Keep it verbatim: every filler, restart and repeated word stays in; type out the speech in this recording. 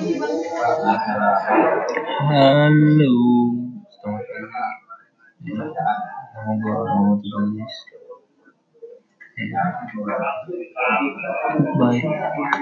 Halo, selamat pagi. Nama gua Muhammad Idris. Ya, goodbye.